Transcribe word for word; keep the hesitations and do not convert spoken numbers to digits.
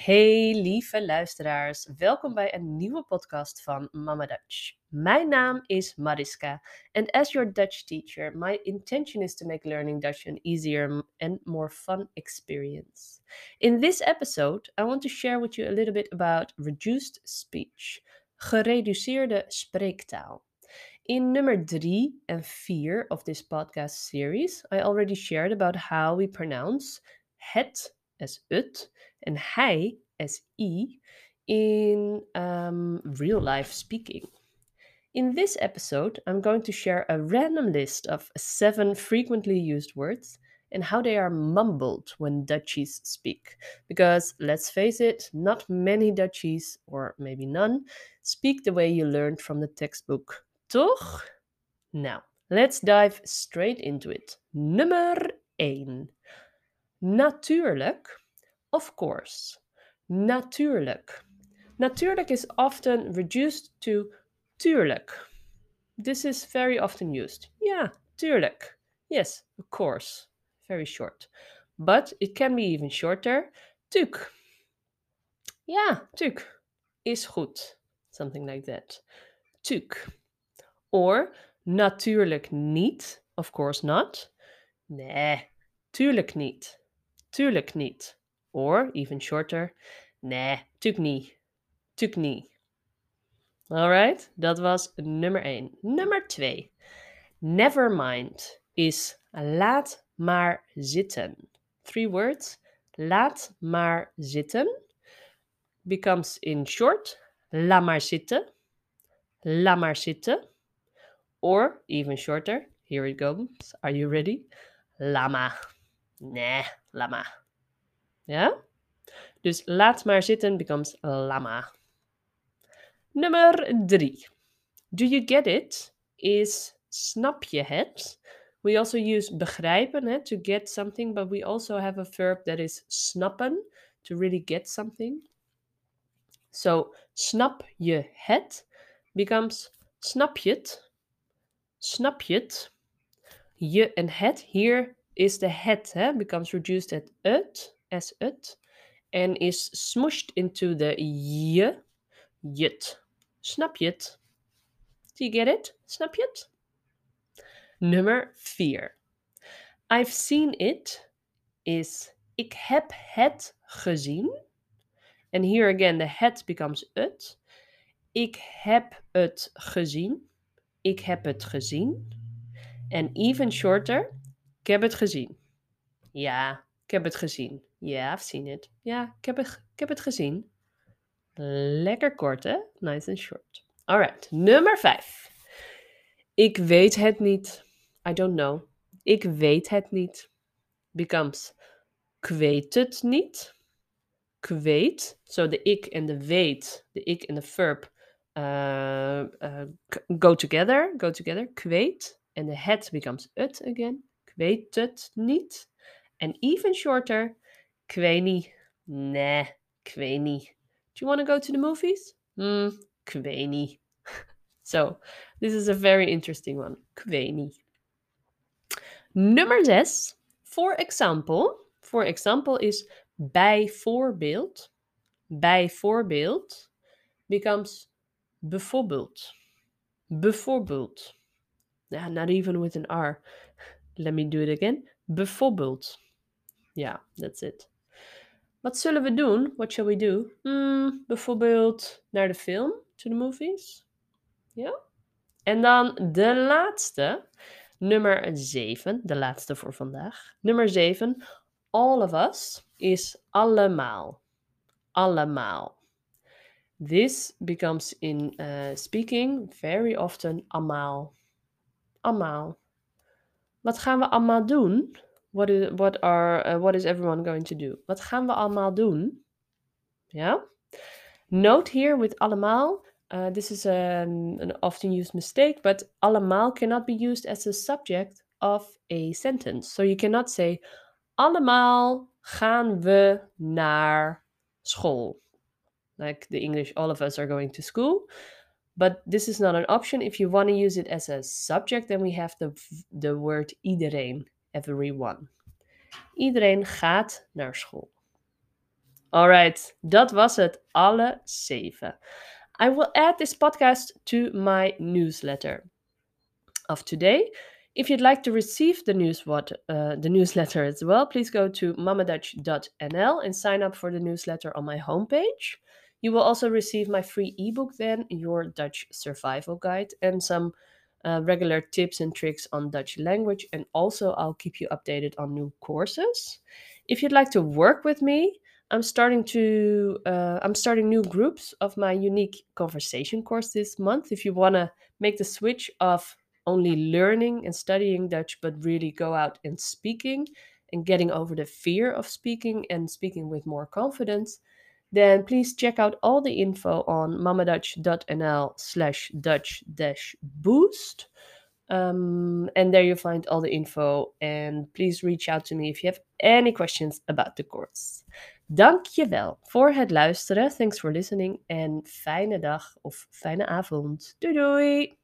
Hey lieve luisteraars, welkom bij een nieuwe podcast van Mama Dutch. Mijn naam is Mariska and as your Dutch teacher, my intention is to make learning Dutch an easier and more fun experience. In this episode, I want to share with you a little bit about reduced speech, gereduceerde spreektaal. In nummer drie en vier of this podcast series, I already shared about how we pronounce het as ut and hij as i in um, real life speaking. In this episode, I'm going to share a random list of seven frequently used words and how they are mumbled when Dutchies speak. Because let's face it, not many Dutchies, or maybe none, speak the way you learned from the textbook. Toch? Now, let's dive straight into it. Nummer één. Natuurlijk. Of course. Natuurlijk. Natuurlijk is often reduced to tuurlijk. This is very often used. Ja, tuurlijk. Yes, of course. Very short. But it can be even shorter. Tuk. Ja, tuk. Is goed. Something like that. Tuk. Or natuurlijk niet. Of course not. Nee, tuurlijk niet. Tuurlijk niet. Or even shorter. Nee, tuk niet. Tuk niet. Alright, dat was nummer één. Nummer twee. Never mind is laat maar zitten. Three words. Laat maar zitten becomes in short la maar zitten. La maar zitten. Or even shorter. Here it goes. Are you ready? Lama. Nee, lama. Ja? Dus laat maar zitten becomes lama. Nummer drie. Do you get it? Is snap je het? We also use begrijpen hè, to get something, but we also have a verb that is snappen, to really get something. So, snap je het becomes snap je het? Snap je het? Je en het, here is the het, hè, becomes reduced at ut, as ut, and is smooshed into the je, jut. Snap je het? Do you get it? Snap je het? Nummer vier. I've seen it is ik heb het gezien. And here again the het becomes ut. Ik heb het gezien. Ik heb het gezien. And even shorter, ik heb het gezien. Ja, ik heb het gezien. Yeah, I've seen it. Ja, ik heb het, ik heb het gezien. Lekker kort, hè? Nice and short. Alright, nummer vijf. Ik weet het niet. I don't know. Ik weet het niet. Becomes ik weet het niet. Ik weet. So the ik and the weet, the ik and the verb uh, uh, go together. Go together. Ik weet. And the het becomes het again. Ik weet het niet. And even shorter. Ik weet niet. Nee, ik weet niet. Do you want to go to the movies? Hmm, ik weet niet. So, this is a very interesting one. Ik weet niet. Nummer zes. For example. For example is bijvoorbeeld. Bijvoorbeeld becomes bijvoorbeeld. Bijvoorbeeld. Yeah, not even with an R. Let me do it again. Bijvoorbeeld. Yeah, that's it. Wat zullen we doen? What shall we do? Hmm, bijvoorbeeld naar de film. To the movies. Ja? Yeah? En dan de laatste. Nummer zeven. De laatste voor vandaag. Nummer zeven. All of us is allemaal. Allemaal. This becomes in uh, speaking very often allemaal. Allemaal. Wat gaan we allemaal doen? What is, what are, uh, what is everyone going to do? Wat gaan we allemaal doen? Ja? Note here with allemaal. Uh, this is an, an often used mistake, but allemaal cannot be used as a subject of a sentence. So you cannot say, allemaal gaan we naar school. Like the English, all of us are going to school. But this is not an option. If you want to use it as a subject, then we have the, the word iedereen, everyone. Iedereen gaat naar school. Alright, dat was het, alle zeven. I will add this podcast to my newsletter of today. If you'd like to receive the news what uh, the newsletter as well, please go to mamadutch dot n l and sign up for the newsletter on my homepage. You will also receive my free ebook then, Your Dutch Survival Guide, and some uh, regular tips and tricks on Dutch language. And also, I'll keep you updated on new courses. If you'd like to work with me, I'm starting to uh, I'm starting new groups of my unique conversation course this month. If you want to make the switch of only learning and studying Dutch, but really go out and speaking and getting over the fear of speaking and speaking with more confidence, then please check out all the info on mamadutch dot n l slash Dutch dash boost. Um, and there you find all the info. And please reach out to me if you have any questions about the course. Dankjewel voor het luisteren. Thanks for listening. En fijne dag of fijne avond. Doei doei!